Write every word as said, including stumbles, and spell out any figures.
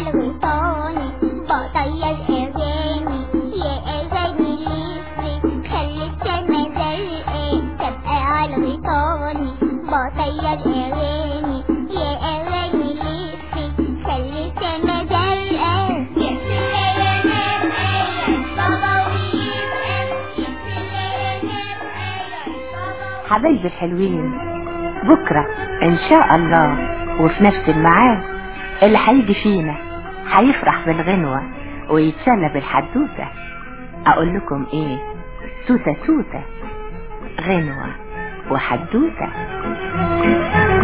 الغيطاني بطير اغاني يا اغاني ليسي خلي السما زرقاء تبقى على الغيطاني بطير اغاني يا اغاني ليسي خلي السما زرقاء حبايبي الحلوين، بكرة ان شاء الله وفي نفس الميعاد اللي هيجي فينا هيفرح بالغنوة ويتسلى بالحدوتة. اقول لكم ايه؟ توتة توتة، غنوة وحدوتة.